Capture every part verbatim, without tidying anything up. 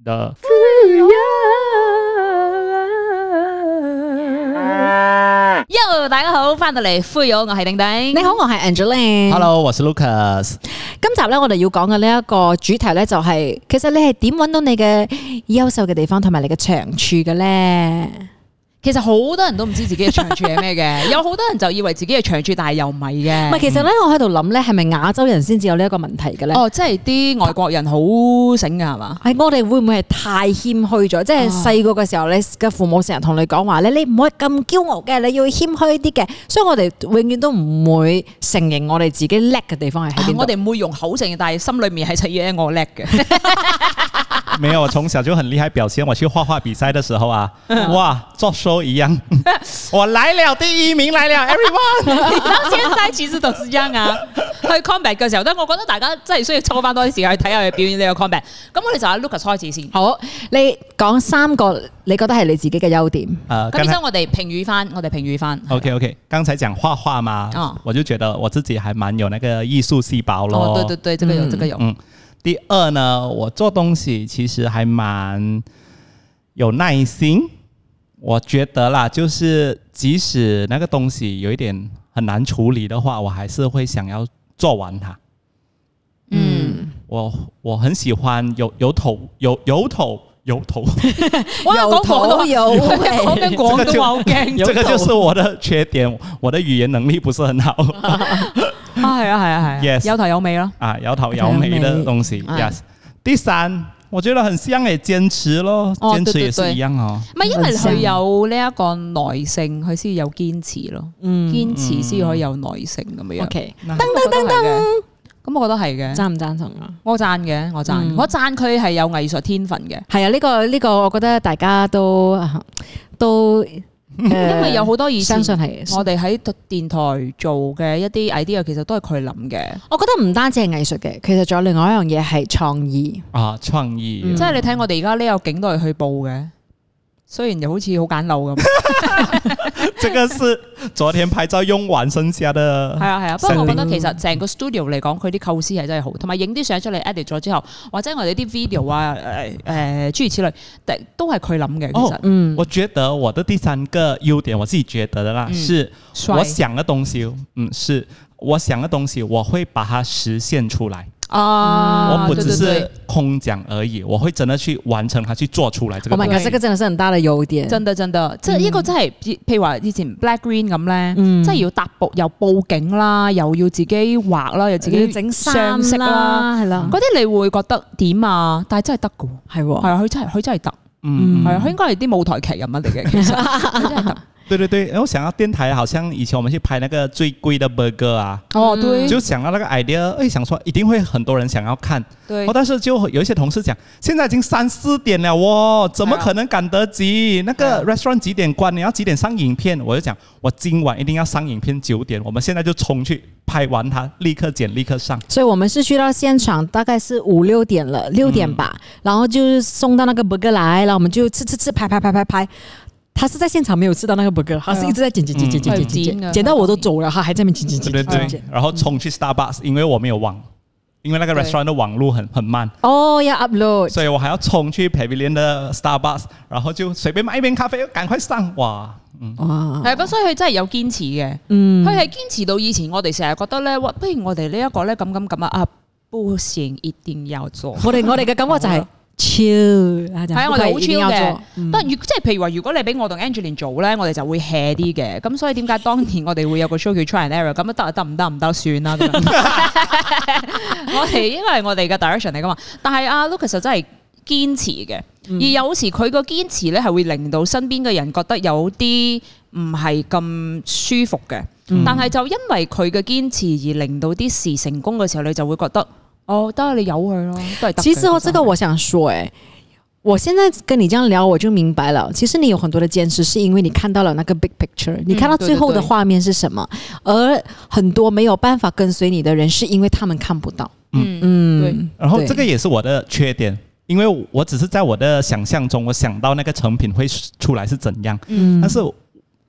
的。 Yo， 大家好，翻到嚟灰友，我係丁丁。 你好，我係 Angeline。 Hello， 我是 Lucas。 今集咧，我哋要講嘅呢一個主題咧，就係其實你係點揾到你嘅優秀嘅地方同埋你嘅長處嘅咧？ 其實好多人都唔知自己嘅長處係咩嘅，有好多人就以為自己嘅長處，但係又唔係嘅。 唔係，其實咧，我喺度諗咧，係咪亞洲人先至有呢一個問題嘅咧？ 哦，即係啲外國人好醒㗎係嘛？ 係我哋會唔會係太謙虛咗？即係細個嘅時候，你嘅父母成日同你講話咧，你唔可以咁驕傲嘅，你要謙虛啲嘅。所以我哋永遠都唔會承認我哋自己叻嘅地方係喺邊度。 我哋唔會用口承認，但係心裏面係實嘢我叻嘅。 沒有，我從小就很厲害表現。我去畫畫比賽的時候啊，哇，作 show 一樣，我來了第一名來了 ，everyone。 到現在其實都是這樣啊。去 combat 嘅時候，我覺得大家真係需要抽翻多啲時間去睇下佢表演呢個 combat。咁我哋就喺 Lucas 開始先。 好，你講三個你覺得係你自己嘅優點。 呃， 咁然之後我哋評語翻，我哋評語翻。 OK OK，剛才講畫畫嘛，哦，我就覺得我自己還蠻有那個藝術細胞咯。 哦，對對對，這個有，這個有。 嗯。第二呢，我做東西其實還蠻有耐心。我覺得啦，就是即使那個東西有一點很難處理的話，我還是會想要做完它。嗯，我我很喜歡有有頭有有頭有頭， 我有頭有尾， 講緊廣東話好驚。 這個就是我的缺點，我的語言能力不是很好。 啊，係啊，係啊，係啊 Yes， 有頭有尾咯。 啊，有頭有尾的東西。Yes。第三，我覺得很像誒，堅持咯，堅、哦、持也是一樣哦。 唔係，因為佢有呢一個耐性，佢先有堅持咯。嗯，堅持先可以有耐性咁樣。 OK， 噔噔噔噔，咁我覺得係嘅。 贊唔贊成啊？ 我贊嘅，我贊，嗯、我贊佢係有藝術天分嘅。 係啊，呢、這個呢、這個，我覺得大家都都。 因為有好多以前相信係我哋喺電台做嘅一啲 idea，其實都係佢諗嘅。 我覺得唔單止係藝術嘅，其實仲有另外一樣嘢係創意啊，創意。 嗯、即係你睇我哋而家呢個景都係去報嘅，雖然又好似好簡陋咁。 這個是昨天拍照用完剩下的。係啊係啊，不過我覺得其實成個 studio 嚟講，佢啲構思係真係好，同埋影啲相出嚟 edit 咗之後，或者我哋啲 video 啊，誒、呃、誒諸如此類，都係佢諗嘅。其實、哦， 嗯，我覺得我的第三個優點，我自己覺得的啦，嗯、是我想的東西，嗯，是我想的東西，我會把它實現出來。啊！我不只是空講而已，我會真的去完成它，去做出來。這個， 我覺得這個真的是很大的優點， 真的真的，即係呢個真係，譬如話以前 Black Green 咁咧，即係要搭布又佈景啦，又要自己畫啦，又自己整上色啦，係啦，嗰啲你會覺得點啊？但係真係得㗎，係係啊，佢真係佢真係得，嗯，係啊，佢應該係啲舞台劇人物嚟嘅，其實佢真係得。 對對對，然後想到電台，好像以前我們去拍那個最貴的 burger 啊， 哦對， 就想到那個 idea，誒，想說一定會很多人想要看，對，但是就有一些同事講，現在已經三四點了喎，怎麼可能趕得及？那個 restaurant 幾點關？你要幾點上影片？我就講，我今晚一定要上影片，九點，我們現在就衝去拍完它，立刻剪，立刻上。所以我們是去到現場，大概是五六點了，六點吧，嗯、然後就送到那個 burger 來，然後我們就吃吃吃，拍拍拍拍拍。他是在現場沒有吃到那個 burger，他是一直在剪剪剪剪剪剪剪，剪到我都走了，他還在那邊剪剪剪。 對對對，然後衝去 Starbucks，因為我沒有網，因為那個 restaurant 的網路很很慢。哦，要 upload，所以我還要衝去 Pavilion 的 Starbucks，然後就隨便買一杯咖啡，趕快上。哇，嗯，哇， 係咁，所以佢真係有堅持嘅。嗯，佢係堅持到以前我哋成日覺得咧，不如我哋呢一個咧咁咁咁啊啊，不行，一定要做。 我哋我哋嘅感覺就係。超係啊，我哋好超嘅。但如即係譬如話，如果你俾我同 Angeline 做咧，我哋就會 hea 啲嘅。咁所以點解當年我哋會有個 show 叫 Try and Error？ 咁得得唔得唔得算啦。我哋因為我哋嘅 direction 嚟噶嘛。但係阿 Lucas 就真係堅持嘅，嗯、而有時佢個堅持咧係會令到身邊嘅人覺得有啲唔係咁舒服嘅。嗯、但係就因為佢嘅堅持而令到啲事成功嘅時候，你就會覺得。哦，當然你由佢咯，都係得。 其實我這個我想說，誒，我現在跟你這樣聊，我就明白了。其實你有很多的堅持，是因為你看到了那個 big picture，你看到最後的畫面是什麼，嗯、對對對，而很多沒有辦法跟隨你的人，是因為他們看不到。嗯嗯，對。 然後這個也是我的缺點，因為我只是在我的想象中，我想到那個成品會出來是怎樣，嗯，但是。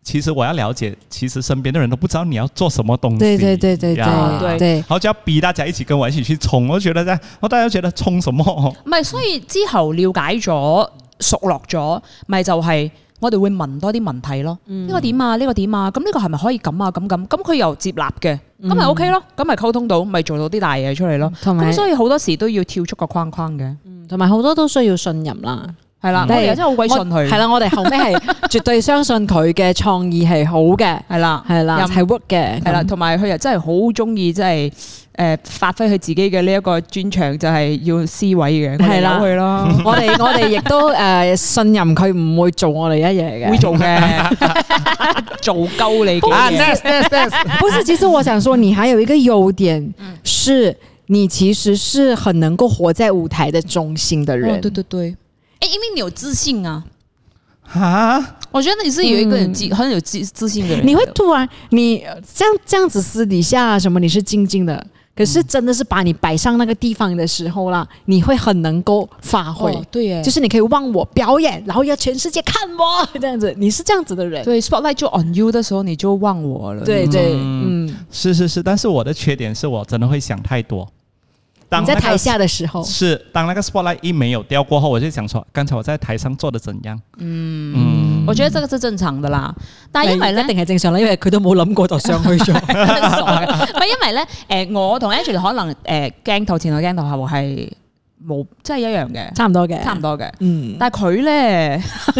其實我要了解，其實身邊的人都不知道你要做什麼東西。 對對對對對對，對， 然後就要逼大家一起跟我一起去衝，我覺得咧，我大家覺得衝什麼？ 唔係，所以之後了解咗、熟絡咗，咪就係我哋會問多啲問題咯。呢、嗯、個點啊？呢、這個點啊？咁呢個係咪可以咁啊？咁咁咁佢又接納嘅，咁咪 OK 咯？咁咪溝通到，咪做到啲大嘢出嚟咯。咁所以好多時都要跳出個框框嘅，同埋好多都需要信任啦。係啦， 我哋真係好鬼信佢。 係啦，我哋後尾係絕對相信佢嘅創意係好嘅。係啦，係啦，係 work 嘅。係啦， 同埋佢又真係好中意，即係誒發揮佢自己嘅呢一個專長，就係要思維嘅。係啦，去咯。我哋我哋亦都誒信任佢唔會做我哋一嘢嘅。會做嘅，做鳩你嘅。啊 ，yes yes yes。不是，其實我想說，你還有一個優點，是你其實是很能夠活在舞台的中心的人。 對對對。因為你有自信啊！ 哈， 我覺得你是有一個人自、嗯、很有自自信的人。 你會突然你這樣這樣子私底下什麼你是靜靜的，可是真的是把你擺上那個地方的時候啦，你會很能夠發揮。哦、對耶，就是你可以忘我表演，然後要全世界看我這樣子，你是這樣子的人。對 ，spotlight 就 on you 的時候，你就忘我了。對對，嗯，嗯是是是，但是我的缺點是我真的會想太多。當、那個、 你在台下的時候， 是當那個 spotlight 一沒有掉過後，我就想說，剛才我在台上做得怎樣？嗯嗯，我覺得這個是正常的啦。但係因為咧， 一定係正常啦，因為佢都冇諗過就上去咗。唔係因為咧，誒、呃，我同 Angela 可能誒鏡、呃、頭前同鏡頭後係冇，即係一樣嘅， 差唔多嘅， 差唔多嘅。嗯，但係佢咧。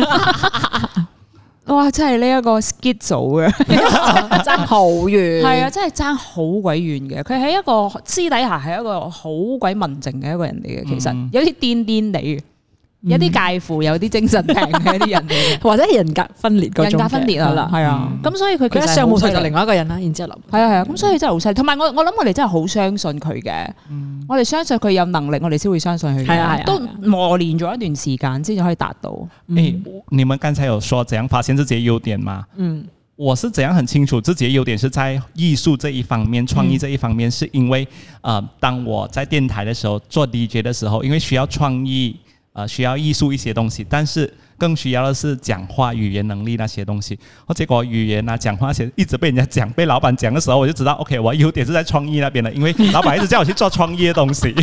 哇！真係呢一個 skit 組嘅，爭好遠，係啊，真係爭好鬼遠嘅。佢係一個私底下係一個好鬼文靜嘅一個人嚟嘅，其實有啲癲癲地嘅。有啲介乎有啲精神病嘅一啲人嚟，或者人格分裂嗰種，人格分裂啊，係啊，咁、嗯、所以佢其實上舞台就另外一個人啦，然之後諗，係啊係啊，咁所以真係好犀利。同埋我我諗我哋真係好相信佢嘅、嗯，我哋相信佢有能力，我哋先會相信佢。係啊係啊，都磨練咗一段時間先至可以達到。誒、嗯欸， 你們剛才有說怎樣發現自己嘅優點嗎？嗯，我是怎樣很清楚自己嘅優點是在藝術這一方面、創意這一方面，是因為，呃，當我在電台嘅時候做 D J 嘅時候，因為需要創意。呃，需要藝術一些東西，但是更需要的是講話語言能力那些東西。我結果語言啊、講話那些一直被人家講，被老闆講的時候，我就知道 ，OK， 我優點是在創意那邊的，因為老闆一直叫我去做創意的東西。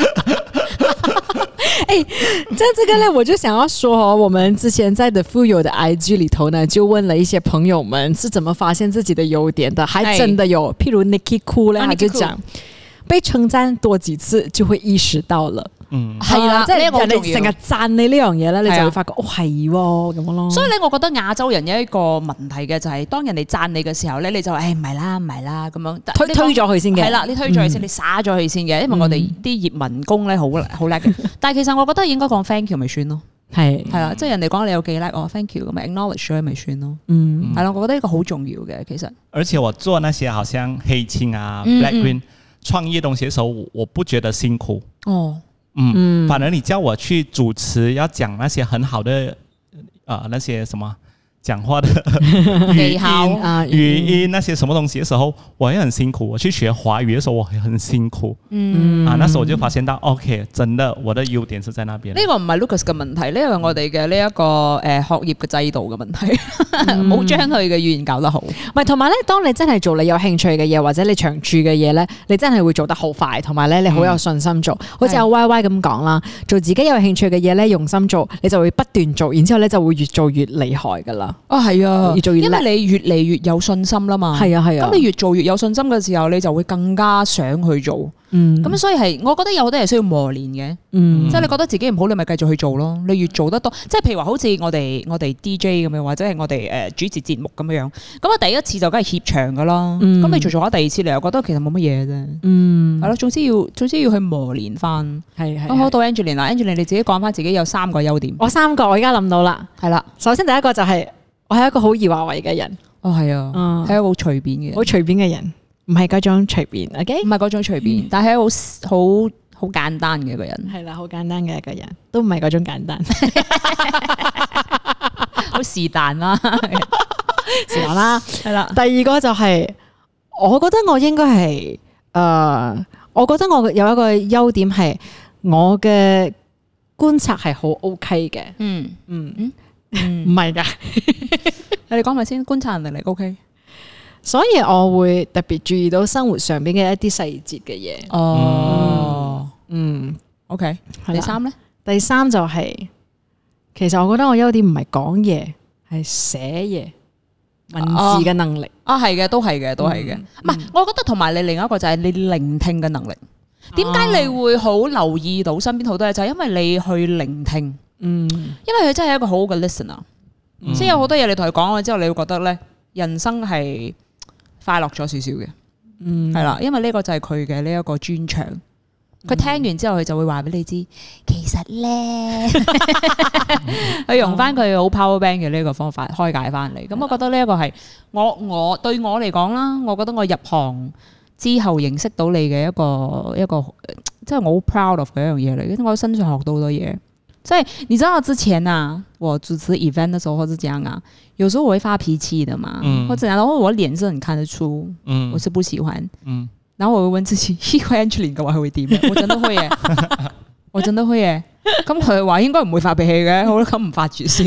哎、欸，在這個呢，我就想要說，我們之前在 The Fuyoh 的 I G 裏頭呢，就問了一些朋友們是怎麼發現自己的優點的，還真的有，譬如 Nicky Khoo 呢，他就講，被稱讚多幾次就會意識到了。嗯，係啦，即係人哋成日讚你呢樣嘢咧，你就會發覺哦係喎咁樣咯。所以咧，我覺得亞洲人有一個問題嘅就係，當人哋讚你嘅時候咧，你就話誒唔係啦，唔係啦咁樣，推推咗佢先嘅。係啦，你推咗佢先，你灑咗佢先嘅，因為我哋啲葉文工咧好好叻嘅。但係其實我覺得應該講 thank you 咪算咯，係係啦，即係人哋講你有幾叻，哦 thank you 咁咪 acknowledge 咗咪算咯。嗯，係咯，我覺得呢個好重要嘅其實。而且我做那些好像黑青啊、black green 創意東西嘅時候，我不覺得辛苦。哦。嗯，反而你叫我去主持，要講那些很好的，呃，那些什麼講話的語音啊，語音那些什麼東西的時候，我也很辛苦。我去學華語的時候，我也很辛苦。嗯，啊，那時候我就發現到 ，OK， 真的，我的優點是在那邊。呢個唔係 Lucas 嘅問題，呢個係我哋嘅呢一個誒學業嘅制度嘅問題，冇將佢嘅語言搞得好。唔係，同埋咧，當你真係做你有興趣嘅嘢，或者你長處嘅嘢咧，你真係會做得好快，同埋咧你好有信心做。嗯、好似阿 Y Y 咁講啦，做自己有興趣嘅嘢咧，用心做，你就會不斷做，然之後咧就會越做越厲害噶啦。哦，係啊，越做越，因為你越嚟越有信心啦嘛。係啊，係啊。咁你越做越有信心嘅時候，你就會更加想去做。嗯。咁所以係，我覺得有好多嘢需要磨練嘅。嗯。即係你覺得自己唔好，你咪繼續去做咯。你越做得多，即係譬如話好似我哋我哋 D J 咁樣，或者係我哋誒主持節目咁樣。咁啊，第一次就梗係怯場噶啦。嗯。咁你做做下第二次，你又覺得其實冇乜嘢啫。嗯。係咯，總之要總之要去磨練翻。係係。好，到 Angeline 啦 ，Angeline 你自己講翻自己有三個優點。我三個，我而家諗到啦。係啦，首先第一個就係、是。我係一個好易話為嘅人，哦係啊，係、嗯、一個好隨便嘅，好隨便嘅人，唔係嗰種隨便 ，OK， 唔係嗰種隨便，嗯、但係好好好簡單嘅一個人，係啦，好簡單嘅一個人，都唔係嗰種簡單，好是但啦，是但啦，係啦。第二個就係、是，我覺得我應該係，誒、呃，我覺得我有一個優點係，我嘅觀察係好 OK 嘅，嗯嗯嗯。唔係噶， 你哋講咪先，觀察能力 OK。 所以我會特別注意到生活上邊嘅一啲細節嘅嘢。 哦， 嗯 ，OK。第三咧？ 第三就係、是，其實我覺得我優點唔係講嘢，係寫嘢。文字嘅能力啊，係嘅，都係嘅，都係嘅。唔係、嗯，我覺得同埋你另一個就係你聆聽嘅能力。點解你會好留意到身邊好多嘢？就係、是、因為你去聆聽。嗯，因為佢真係一個好好嘅 listener。嗯、即係有好多嘢你同佢講咗之後，你會覺得咧，人生係快樂咗少少嘅。嗯，係啦，因為呢個就係佢嘅呢一個專長。佢聽完之後，佢就會話俾你知，其實咧，佢用翻佢好 power bank 嘅呢個方法開解翻嚟。咁我覺得呢一個係我我對我嚟講啦，我覺得我入行之後認識到你嘅一個一個，即係我好 proud of 嘅一樣嘢嚟。因為我喺身上學到好多嘢。即係你知道之前啊，我主持 event 嘅時候或者點樣啊，有時候我會發脾氣的嘛，嗯、或者然後我臉是很看得出，嗯、我是不喜歡。嗯然後我會問自己，呢個 Angeline 嘅話佢會點？我真都會嘅，我真都會嘅。咁佢話應該唔會發脾氣嘅，好啦，咁唔發住先。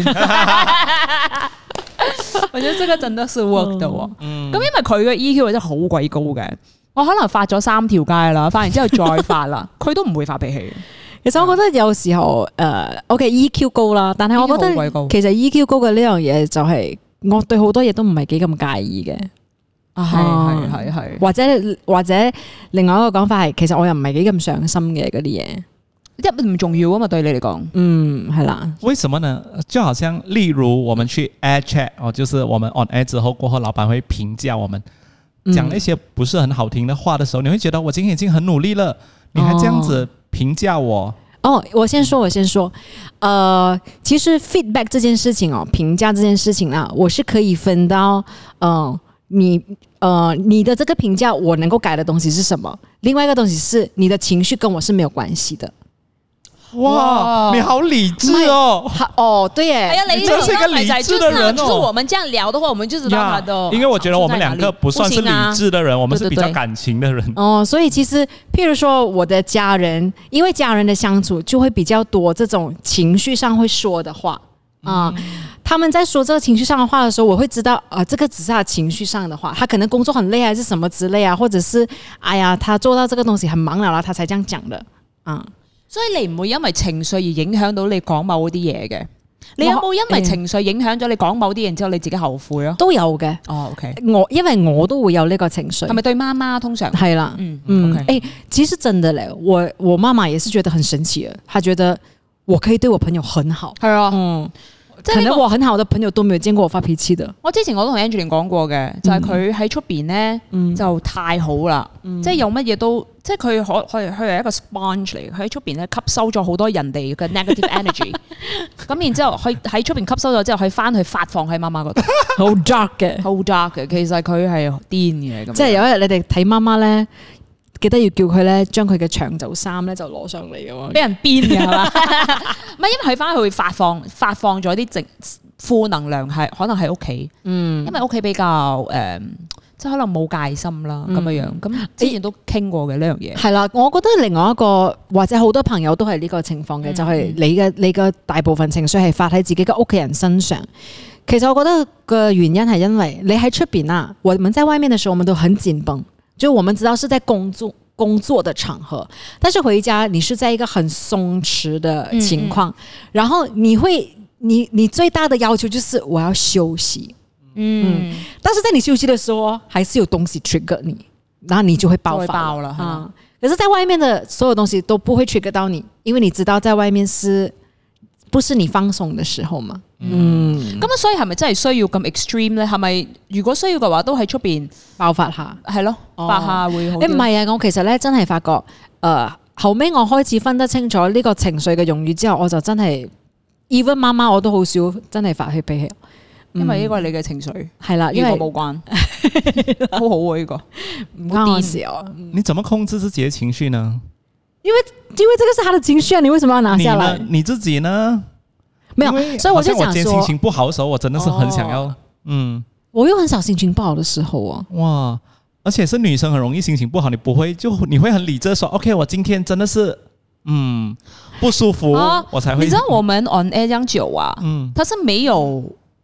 我覺得這個真的是 work 的喎。咁、嗯、因為佢嘅 E Q 真係好鬼高嘅，我可能發咗三條街啦，發完之後再發啦，佢都唔會發脾氣。 其實我覺得有時候誒、呃、，OK E Q 高啦，但係我覺得其實 E Q 高嘅呢樣嘢就係我對好多嘢都唔係幾咁介意嘅。啊，係係係係，或者或者另外一個講法係，其實我又唔係幾咁上心嘅嗰啲嘢， 一唔重要啊嘛，對你嚟講， 嗯，係啦。 為什麼呢？就好像例如我們去 air chat 哦，就是我們 on air 之後過後，老闆會評價我們，講一些不是很好聽的話的時候，你會覺得我今天已經很努力了，你還這樣子評價我？ 哦，我先說，我先說，呃，其實 feedback 這件事情哦，評價這件事情啊，我是可以分到，嗯、呃。你呃，你的這個評價我能夠改的東西是什麼？另外一個東西是你的情緒跟我是沒有關係的。 哇，你好理智哦！ 哦，對耶， 哎呀， 你真是一個理智的人哦。 就是我們這樣聊的話，我們就知道他的。 因為我覺得我們兩個不算是理智的人，我們是比較感情的人。 哦，所以其實譬如說我的家人，因為家人的相處就會比較多這種情緒上會說的話啊。嗯他們在說這個情緒上的話的時候，我會知道啊、呃，這個只是他情緒上的話，他可能工作很累還是什麼之類啊，或者是哎呀，他做到這個東西很忙了啦，他才這樣講的啊、嗯。 所以你唔會因為情緒而影響到你講某啲嘢嘅。你有冇因為情緒影響咗你講某啲嘢之後你自己後悔啊？ 都有嘅。 哦，OK。 我因為我都會有呢個情緒。係咪對媽媽通常？ 係啦，嗯嗯。誒、okay 欸，其實真的咧，我我媽媽也是覺得很神奇嘅，她覺得我可以對我朋友很好。係啊，嗯。可能我很好的朋友都沒有見過我發脾氣的。我之前我都同 Angeline 講過嘅，就係佢喺出邊咧就太好啦，嗯、即係有乜嘢都，即係佢可佢佢係一個 sponge 嚟，佢喺出邊咧吸收咗好多人哋嘅 negative energy，咁然之後佢喺出邊吸收咗之後，佢翻去發放喺媽媽嗰度，好 dark 嘅，好 dark 嘅。其實佢係癲嘅，即係有一日你哋睇媽媽咧。記得要叫佢咧，將佢嘅長袖衫咧就攞上嚟嘅喎，俾人鞭嘅係嘛？唔係，因為佢翻去會發放發放咗啲正負能量，係可能喺屋企，嗯，因為屋企比較誒、呃，即係可能冇戒心啦咁樣樣。咁之前都傾過嘅呢樣嘢。係啦，我覺得另外一個或者好多朋友都係呢個情況嘅，嗯、就係你嘅你嘅大部分情緒係發喺自己嘅屋企人身上。其實我覺得個原因係因為你喺出邊啊，我們在外面嘅時候，我們都很緊繃。就我們知道是在工作工作的場合，但是回家你是在一個很鬆弛的情況，嗯嗯然後你會你你最大的要求就是我要休息，嗯，嗯但是在你休息的時候，還是有東西 trigger 你，然後你就會爆發爆了啊、嗯！可是在外面的所有東西都不會 trigger 到你，因為你知道在外面是不是你放鬆的時候嘛？嗯，咁、嗯、所以係咪真係需要咁 extreme 咧？係咪如果需要嘅話，都喺出邊爆發下，係咯，發下會好啲。誒唔係啊，我其實咧真係發覺，誒、呃、後尾我開始分得清楚呢個情緒嘅用語之後，我就真係 even 媽媽我都好少真係發起脾氣，因為呢個係你嘅情緒係啦，因為冇關，好好啊呢個唔關我事啊。 你怎麼控制自己嘅情緒呢？ 因為因為這個是他的情緒啊，你為什麼要拿下來？ 你，你自己呢？ 沒有，所以我就想說，我今天心情不好的時候，我真的是很想要，哦、嗯， 我又很少心情不好的時候啊， 哇，而且是女生很容易心情不好，你不會就你會很理智說 ，OK， 我今天真的是，嗯，不舒服，啊、我才會。 你知道我們 on air 這樣久啊，嗯，它是沒有。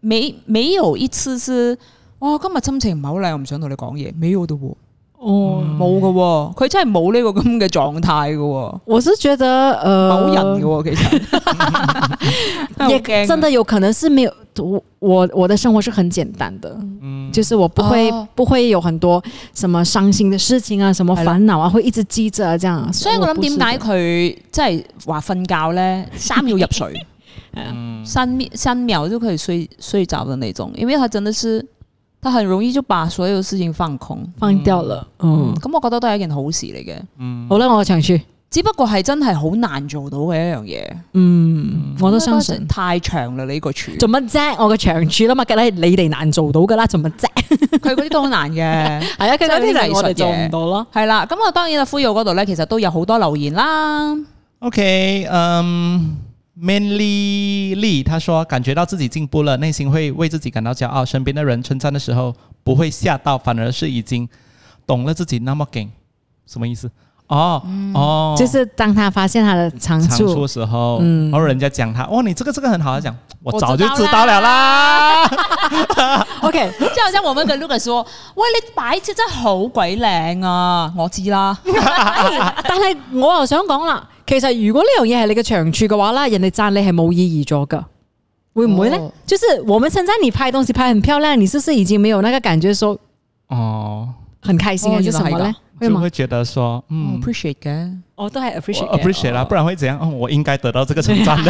沒沒有一次是哇今日心情唔係好靚，我唔想同你講嘢，沒有的喎。哦，冇嘅喎，佢真係冇呢個咁嘅狀態嘅喎。 我是覺得，呃， 冇人嘅喎，其實也真的有可能是沒有我我的生活是很簡單的，嗯，就是我不會、哦、不會有很多什麼傷心的事情啊，什麼煩惱啊，會一直記着啊，這樣。 所以我諗點解佢即係話瞓覺咧，三秒入睡，嗯，三秒三秒就可以睡睡着的那種，因為他真的是。他很容易就把所有事情放空放掉了，嗯，咁、 嗯、我覺得都係一件好事嚟嘅。 嗯，好啦，我嘅長處， 只不過係真係好難做到嘅一樣嘢。 嗯，我都相信太長啦呢、這個處。 做乜啫？我嘅長處啦嘛，梗係你哋難做到噶啦，做乜啫？ 佢嗰啲都好難嘅，係啊，佢嗰啲就係我哋做唔到咯。係啦，咁我當然啊，呼友嗰度咧，其實都有好多留言啦。 OK，嗯、um,。Manly Lee 他說感覺到自己進步了，內心會為自己感到驕傲，身邊的人稱讚的時候不會嚇到，反而是已經懂了自己那麼勁。什麼意思？哦、嗯、哦， 就是當他發現他的長處長處的時候，嗯，然後人家講他，哦，你這個這個很好，他講我早就知道了啦。 啦 OK， 就好像我們跟 Lucas 說，喂，你擺設真係好鬼靚啊，我知啦。 但係我又想講啦。其實如果呢樣嘢係你嘅長處嘅話啦，人哋讚你係冇意義咗噶，會唔會呢？哦、就是我們稱讚你拍東西拍很漂亮，你是不是已經沒有那個感覺說哦很開心還是什麼呢？ 會就會覺得說嗯 appreciate 嘅， 我都係 appreciate appreciate 啦，不然會怎樣？哦，我應該得到這個稱讚的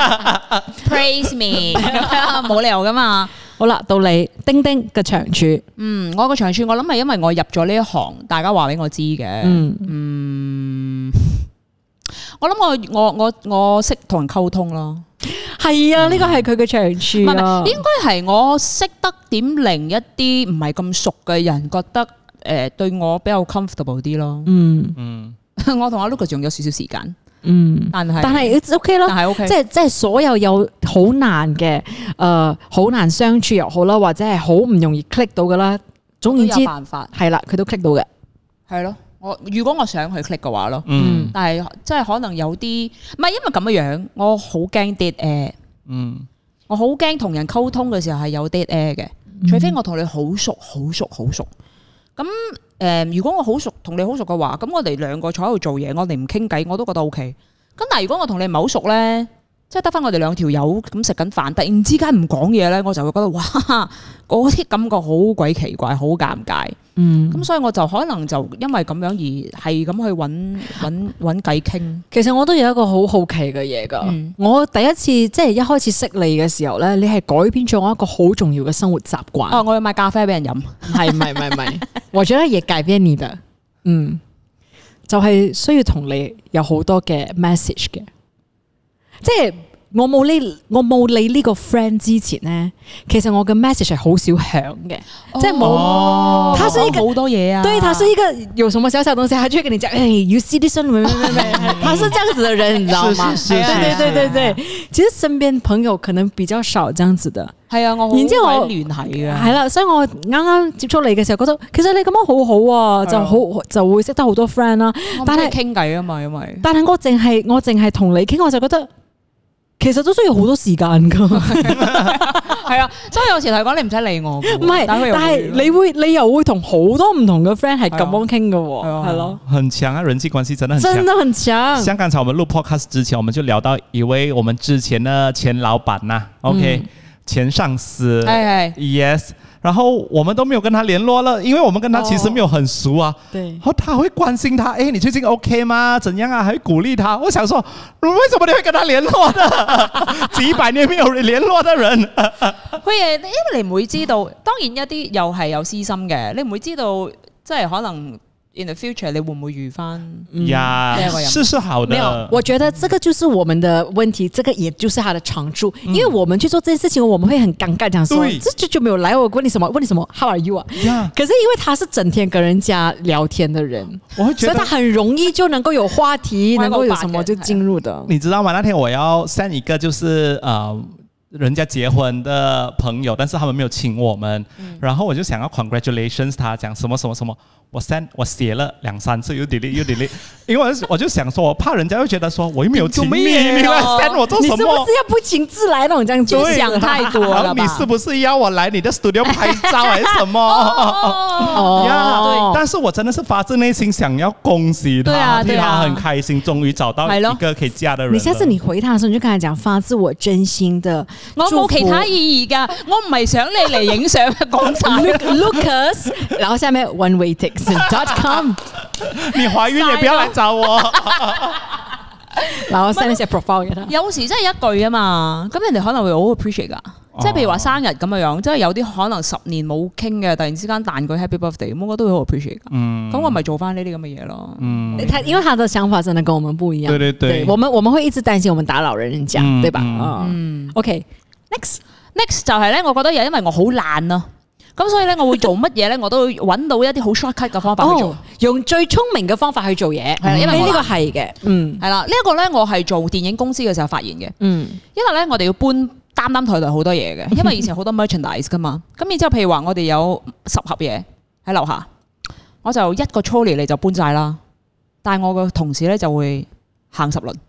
，praise me，冇理由噶嘛。 好啦，到你丁丁嘅長處， 嗯，我個長處我諗係因為我入咗呢一行，大家話俾我知嘅，嗯嗯。我諗我我我我識同人溝通咯， 係啊，呢個係佢嘅長處啊。 唔係，應該係我識得點令一啲唔係咁熟嘅人覺得誒、呃、對我比較 comfortable 啲咯。嗯嗯，我同阿 Lucas 仲有少少時間，嗯，但係但係 OK 咯， 但係 OK， 即係即係所有有好難嘅誒好難相處又好啦，或者係好唔容易 click 到噶啦，總言之有辦法係啦，佢都 click 到嘅， 係咯。我如果我想去 click 嘅話咯，嗯，但係即係可能有啲唔係因為咁嘅樣，我好驚 dead air，嗯，我好驚同人溝通嘅時候係有 dead air 嘅，嗯、除非我同你好熟、好熟、好熟。咁誒、呃，如果我好熟，同你好熟嘅話，咁我哋兩個坐喺度做嘢，我哋唔傾偈，我都覺得 OK。咁但係如果我同你唔係好熟咧，即係得翻我哋兩條友咁食緊飯，突然之間唔講嘢咧，我就會覺得哇，嗰啲感覺好鬼奇怪，好尷尬。嗯，咁所以我就可能就因為咁樣而係咁去揾揾揾偈傾。 其實我都有一個好好奇嘅嘢噶，嗯、我第一次即係一開始識你嘅時候咧，你係改變咗我一個好重要嘅生活習慣。 哦，我要買咖啡俾人飲， 係唔係唔係唔係，我覺得也改變你的，嗯，就係、是、需要同你有好多嘅 message 嘅，即係。我冇呢，我冇你呢個 friend 之前呢，其實我嘅 message 係好少響嘅，哦、即係冇。 哦、他是一個好多嘢啊， 對，他是一個有什麼小小東西，他就會跟你講，誒、hey, ，you see this one，他是這樣子的人，你知道嗎？ 是是是是對對對對對，其實身邊朋友可能比較少這樣子的。 係啊，我好鬼聯繫嘅。係啦，所以我啱啱接觸你嘅時候，覺得其實你咁樣好好啊，就好就會識得好多 friend 啦。 但係傾偈啊嘛，因為但係我淨係我淨係同你傾，我就覺得。其實都需要好多時間噶， 係啊，所以有時嚟講你唔使理我，唔係，但係你會你又會同好多唔同嘅 friend 係咁樣傾噶，係咯， 很強啊，人際關係真的很強， 真的很強。 像剛才我們錄 podcast 之前，我們就聊到一位我們之前的前老闆呐 ，OK，、嗯、前上司， 哎 yes。然後我們都沒有跟他聯絡了，因為我們跟他其實沒有很熟啊。對、哦，然後他會關心他，誒，你最近 OK 嗎？怎樣啊？還會鼓勵他。我想說，為什麼你會跟他聯絡的？幾百年沒有聯絡的人， 會誒，因為你唔會知道，當然一啲又係有私心嘅，你唔會知道，即係可能。In the future，你會唔會遇翻呀？是是好的。 沒有，我覺得這個就是我們的問題，這個也就是他的長處。嗯、因為我們去做這件事情，我們會很尷尬，講說對這就就沒有來我問你什麼，問你什麼 ，How are you 啊？呀可是因為他是整天跟人家聊天的人，我會覺得所以他很容易就能夠有話題，能夠有什麼就進入的。 你知道嗎？那天我要 send 一個，就是呃。 人家結婚的朋友，但是他們沒有請我們，嗯、然後我就想要 congratulations 他，講什麼什麼什麼，我 send 我寫了兩三次又 delete 又 delete，因為我就想說，我怕人家會覺得說我又沒有請你，你來 send 我做什麼？ 你是不是要不請自來那種這樣子？ 就想太多了吧？ 你是不是要我來你的 studio 拍照還是什麼？ 哦， 呀，但是我真的是發自內心想要恭喜他， 對啊對啊， 替他很開心，終於找到一個可以嫁的人。 你下次你回他的時候，你就跟他講，發自我真心的。 我冇其他意義噶，我唔係想你嚟影相講晒。 Lucas， 然後下面 one way tickets dot com， 你懷孕也不要來找我。 然後 send 一些 profile 給他。 有時真係一句啊嘛，咁人哋可能會好 appreciate 噶。即係譬如話生日咁樣樣，即係有啲可能十年冇傾嘅，突然之間彈句 Happy Birthday，咁我都會好 appreciate 噶。嗯，咁我咪做翻呢啲咁嘅嘢咯。嗯，他因為他的想法真的跟我們不一樣。對對對，對我們我們會一直擔心我們打擾人家，嗯、對吧？嗯。嗯 OK，next next 就係咧，我覺得又因為我好懶啊，咁所以咧我會做乜嘢咧，我都會揾到一啲好 shortcut 嘅方法去做，哦、用最聰明嘅方法去做嘢。係啦，因為呢個係嘅，嗯，係啦，呢一個咧我係做電影公司嘅時候發現嘅，嗯，因為咧我哋要搬擔擔抬抬好多嘢嘅，因為以前好多 merchandise 噶嘛，咁然之後譬如話我哋有十盒嘢喺樓下，我就一個 trolley 嚟就搬晒啦，但係我個同事咧就會行十輪，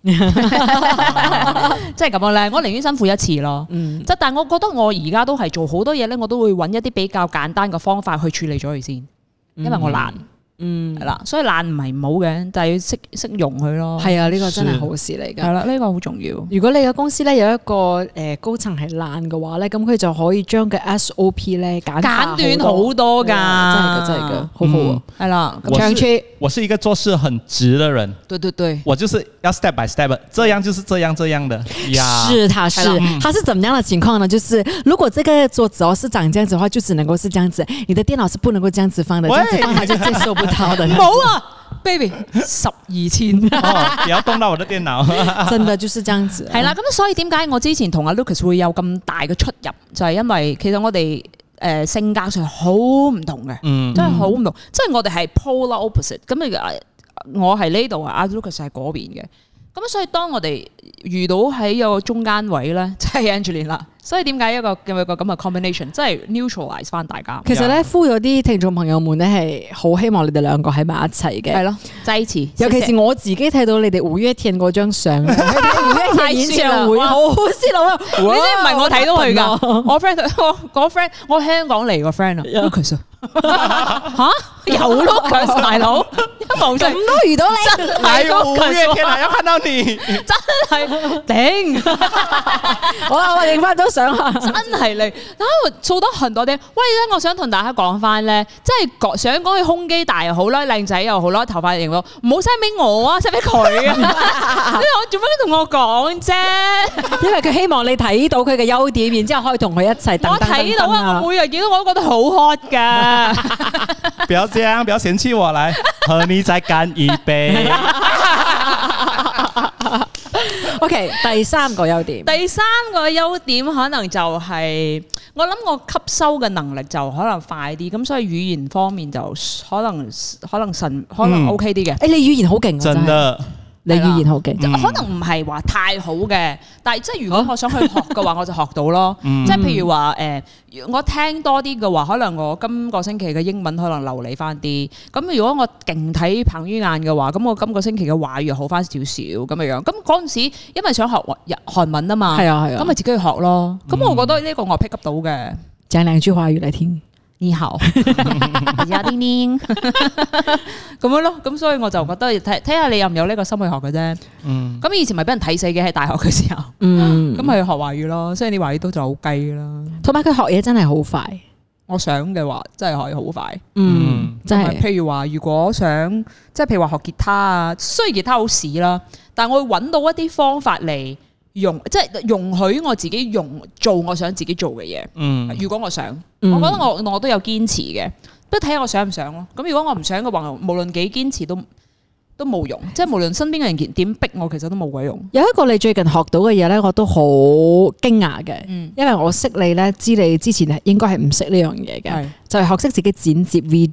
即係咁樣咧，我寧願辛苦一次咯。嗯，即係但係我覺得我而家都係做好多嘢咧，我都會揾一啲比較簡單嘅方法去處理咗佢先，因為我懶。嗯，係啦，所以懶唔係唔好嘅，但係要識識用佢咯。係啊，呢個真係好事嚟㗎。係啦，呢個好重要。如果你嘅公司咧有一個誒高層係懶嘅話咧，咁佢就可以將個 S O P 咧簡簡短好多㗎。真係㗎，真係㗎，好好啊。係啦，長期我是一個做事很直的人。對對對，我就是要 step by step， 這樣就是這樣這樣的。呀，是，他是，他是怎麼樣的情況呢？就是如果這個桌子哦是長這樣子的話，就只能夠是這樣子。你的電腦是不能夠這樣子放的，這樣子放它就接受不到。冇啊 ，baby， 十二千， 哦，不要動到我的電腦， 真的就是這樣子。 係啦，咁所以點解我之前同阿 Lucas 會有咁大嘅出入，就係、是、因為其實我哋誒、呃、性格上好唔同嘅，嗯，真係好唔同，即係我哋係 polar opposite。咁啊，我係呢度啊，阿 Lucas 係嗰邊嘅。咁所以當我哋遇到喺一個中間位咧，就係 Angeline 啦。所以點解一個有一個咁嘅 combination，即係 neutralize 翻大家。其實咧，呼咗啲聽眾朋友們咧係好希望你哋兩個喺埋一齊嘅。係咯，在一起。尤其是我自己睇到你哋五月天嗰張相，五月天演唱會好好先咯。你知唔係我睇到佢㗎？我 friend 我我 friend 我香港嚟個 friend 啊 ，Lucas 嚇有 Lucas 大佬，咁都遇到你，真係五月天啊！要看到你，真係頂。好啦，我影翻張相啊，真係你，啊，做得很多啲。喂，咧，我想同大家講翻咧，即係想講佢胸肌大又好啦，靚仔又好啦，頭髮型咯，唔好 send 俾我啊 ，send 俾佢啊。你我做乜同我講啫？因為佢希望你睇到佢嘅優點，然之後可以同佢一齊。我睇到啊，我每日見到我都覺得好 hot 噶。不要這樣，不要嫌棄我，來和你再乾一杯。OK， 第三個優點，第三個優點可能就係、是、我諗我吸收嘅能力就可能快啲，咁所以語言方面就可能可能神可能 OK 啲嘅。誒、嗯欸，你語言好勁，真的。你語言好勁，嗯、可能唔係話太好嘅，但係即係如果我想去學嘅話，我就學到咯。嗯、即係譬如話誒、呃，我聽多啲嘅話，可能我今個星期嘅英文可能流利翻啲。咁如果我勁睇彭于晏嘅話，咁我今個星期嘅華語又好翻少少咁嘅樣。咁嗰陣時因為想學日韓文啊嘛，係啊係啊，咁咪自己去學咯。咁、嗯、我覺得呢個我 pick up 到嘅。講兩句華語嚟聽。你好，阿丁丁咁樣咯，咁所以我就覺得睇睇下你有唔有呢個心去學嘅啫。嗯，咁以前咪俾人睇死嘅喺大學嘅時候，嗯，咁咪學華語咯，所以你華語都就好雞啦。同埋佢學嘢真係好快，我想嘅話真係可以好快。嗯，真係。譬如話，如果想即係譬如話學吉他啊，雖然吉他好屎啦，但係我會揾到一啲方法嚟。容即係容許我自己用做我想自己做嘅嘢。嗯，如果我想，嗯、我覺得我我都有堅持嘅，不過睇下我想唔想咯。咁如果我唔想嘅話，無論幾堅持都都冇用。即係無論身邊嘅人點逼我，其實都冇鬼用。有一個你最近學到嘅嘢咧，我都好驚訝嘅。嗯，因為我識你咧，知你之前應該係唔識呢樣嘢嘅，就係、是、學識自己剪接 video。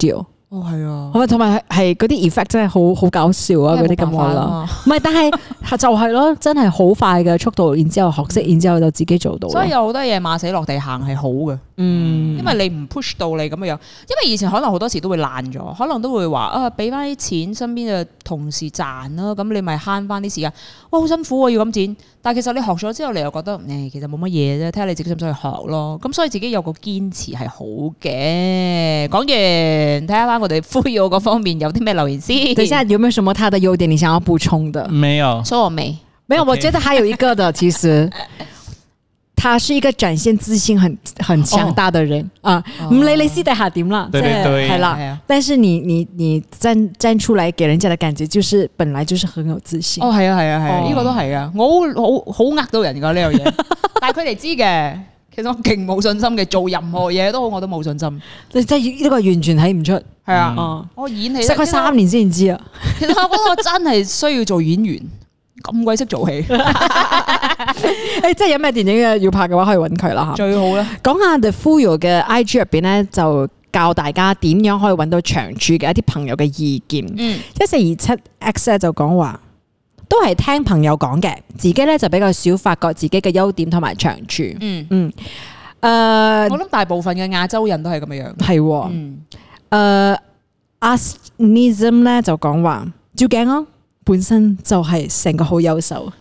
哦，係啊， 係咪？同埋係嗰啲 effect 真係好好搞笑啊！嗰啲咁話啦，唔係，但係就係咯，真係好快嘅速度，然之後學識，然之後就自己做到。 所以有好多嘢馬死落地行係好嘅，嗯，因為你唔 push 到你咁樣樣，因為以前可能好多時都會爛咗，可能都會話啊，俾翻啲錢身邊嘅同事賺啦，咁你咪慳翻啲時間。哇，好辛苦啊，要咁剪，但係其實你學咗之後，你又覺得誒、欸，其實冇乜嘢啫，睇下你自己想唔想去學咯。咁所以自己有個堅持係好嘅。講完，睇下翻我哋呼籲嗰方面有啲咩留言先。 等一下有沒有什麼他的優點你想要補充的？ 沒有， 說我沒， 沒有，我覺得還有一個的，其實。他是一個展現自信很很強大的人、哦、啊，唔理你私底下點啦， 對對對， 係啦，但是你你你站站出來給人家的感覺，就是本來就是很有自信。 哦，係啊係啊係啊，呢、這個都係啊，我好好好呃到人噶呢樣嘢，但係佢哋知嘅，其實我勁冇信心嘅，做任何嘢都好，我都冇信心。即係呢個完全睇唔出，係啊、嗯，我演戲識佢三年先知啊。其實我覺得我真係需要做演員。咁鬼識做戲，誒，即係有咩電影嘅要拍嘅話，可以揾佢啦嚇。最好啦。講下 The Fuyoh 嘅 I G 入邊咧，就教大家點樣可以揾到長處嘅一啲朋友嘅意見。嗯，一四二七 X 咧就講話，都係聽朋友講嘅，自己咧就比較少發覺自己嘅優點同埋長處。嗯嗯，誒、呃，我諗大部分嘅亞洲人都係咁嘅樣。係喎。嗯。誒 ，Asnism 咧就講話照鏡咯。本身就係成個好優秀，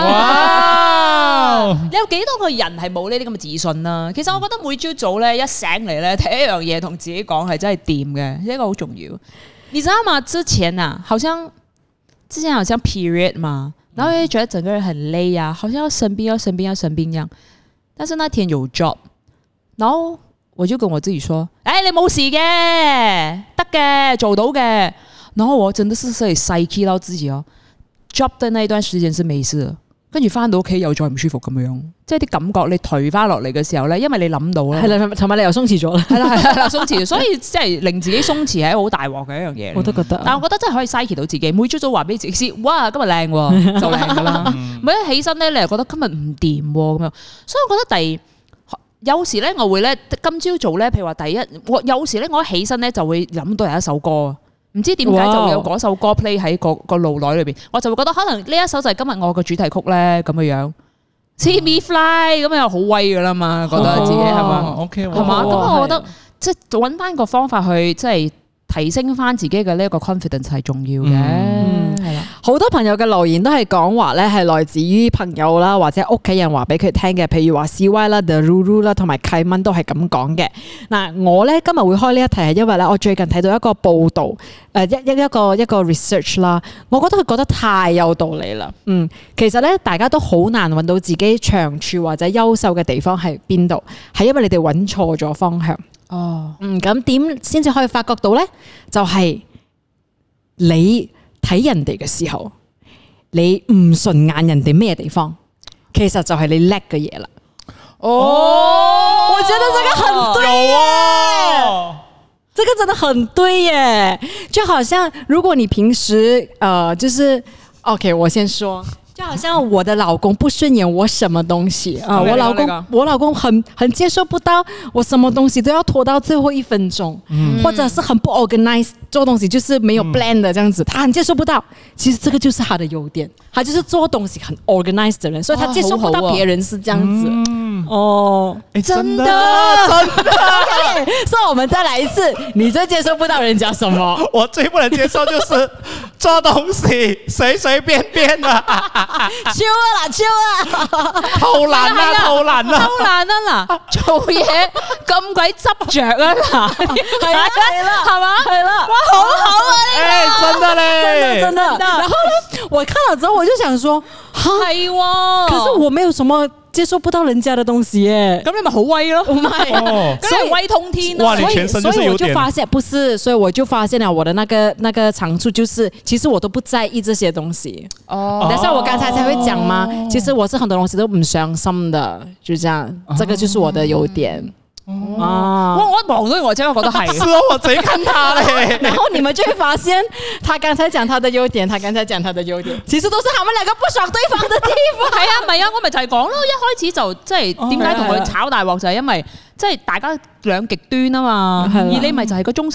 哇！你有幾多個人係冇呢啲咁嘅自信啊？其實我覺得每朝早咧一醒嚟咧，睇一樣嘢同自己講係真係掂嘅，呢個好重要。你知道嗎？之前啊，好像之前好像 period 嘛，然後又覺得整個人很累啊，好像要生病要生病要生病一樣。但是那天有 job， 然後我就跟我自己說：，誒、欸，你冇事嘅，得嘅，做到嘅。然後我真的是可以 psyche 到自己哦 ，job 的那一段時間是沒事的，跟住翻到屋企又再唔舒服咁樣，即係啲感覺你頹翻落嚟嘅時候咧，因為你諗到啦，係啦，同埋你又鬆弛咗啦，係啦係啦鬆弛，所以即係令自己鬆弛係好大鑊嘅一樣嘢。我都覺得，但係我覺得真係可以 psyche 到自己，每朝早話俾自己知，哇今日靚喎，就靚噶啦，每一起身咧你又覺得今日唔掂咁樣，所以我覺得第有時咧我會咧今朝早咧，譬如話第一，我有時咧我一起身咧就會諗到有一首歌。唔知點解就會有嗰首歌 play 喺個個腦內裏邊，我就會覺得可能呢一首就係今日我嘅主題曲咧咁嘅樣 ，See Me Fly 咁又好威噶啦嘛，覺得自己係嘛 ，OK 係嘛，咁我覺得即係揾翻個方法去即係提升翻自己嘅呢一個 confidence 係重要嘅，係啦。好多朋友嘅留言都係講話咧，係來自於朋友啦，或者屋企人話俾佢聽嘅，譬如話 C Y 啦、The Ruru 啦，同埋契蚊都係咁講嘅。嗱，我咧今日會開呢一題係因為咧，我最近睇到一個報導，誒一一一個一個 research 啦，我覺得佢覺得太有道理啦。嗯，其實咧大家都好難揾到自己長處或者優秀嘅地方喺邊度，係因為你哋揾錯咗方向。哦，嗯，咁點先至可以發覺到咧？就係、是、你睇人哋嘅時候，你唔順眼人哋咩地方，其實就係你叻嘅嘢啦。哦，我覺得這個很對耶，哦、這個真的很對耶。就好像如果你平時，呃，就是 OK， 我先說。就好像我的老公不順眼我什麼東西啊，我老公我老公很很接受不到我什麼東西都要拖到最後一分鐘，嗯、或者是很不 organize 做東西就是沒有 plan 的這樣子，他很接受不到。其實這個就是他的優點，他就是做東西很 organized 的人，所以他接受不到別人是這樣子。嗯、哦，真的真的，所以我們再來一次，你最接受不到人家什麼？我最不能接受就是做東西隨隨便便的。超啊啦，超啊！偷懶啊，偷懶啊，偷懶啊嗱！做嘢咁鬼執着啊嗱，係啊，係啦，係嘛，係啦，哇，好好啊呢個，真的咧，真的真的。然後呢，我看了之後我就想說，係喎，可是我沒有什麼接受不到人家的東西耶，咁你咪好威咯，唔係，所以威通天啊，所以所以我就發現，不是，所以我就發現了我的那個那個長處就是，其實我都不在意這些東西。哦，但是我剛才才會講嘛，其實我是很多東西都唔上心的，就這樣，這個就是我的優點。哦，我我望到我真係覺得係，是啊，我自己看他咧，然後你們就會發現，他剛才講他的優點，他剛才講他的優點，其實都是他們兩個不爽對方的地方。係啊，唔係啊，我咪就係講咯，一開始就即係點解同佢炒大鑊就係因為即係大家兩極端啊嘛，而你咪就係個中心咯。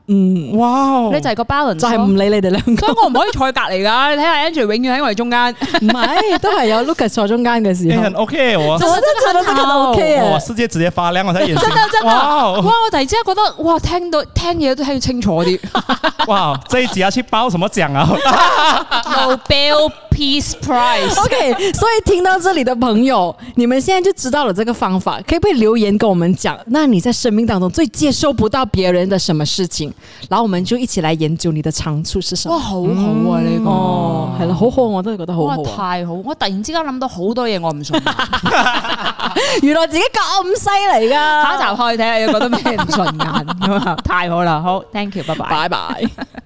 嗯， 哇， 你就係個 balance， 就係唔理你哋兩個， 所以我唔可以坐喺隔離㗎。你睇下 Andrew 永遠喺我哋中間， 唔係都係有 Lucas 坐中間嘅時候， 欸、很 OK 我， 我真係覺得這個 OK 啊， 哇，世界直接發亮，我睇眼睛， 真的真的， 哇， 哇！我突然之間覺得，哇，聽到聽嘢都聽清楚啲， 哇！這一集要去報什麼獎啊 ？Nobel Peace Prize。OK， 所以聽到這裡的朋友，你們現在就知道了這個方法，可以不可以留言跟我們講？那你在生命當中最接受不到別人的什麼事情？然後我們就一起來研究你的長處是什麼。 哇，好好啊呢、這個， 哦，係啦，好好，我都係覺得好好、啊。 哇，太好！我突然之間諗到好多嘢，我唔信。 原來自己咁犀利噶， 下一集開睇下，又覺得咩唔順眼咁啊！太好啦，好 ，thank you，拜拜， 拜拜。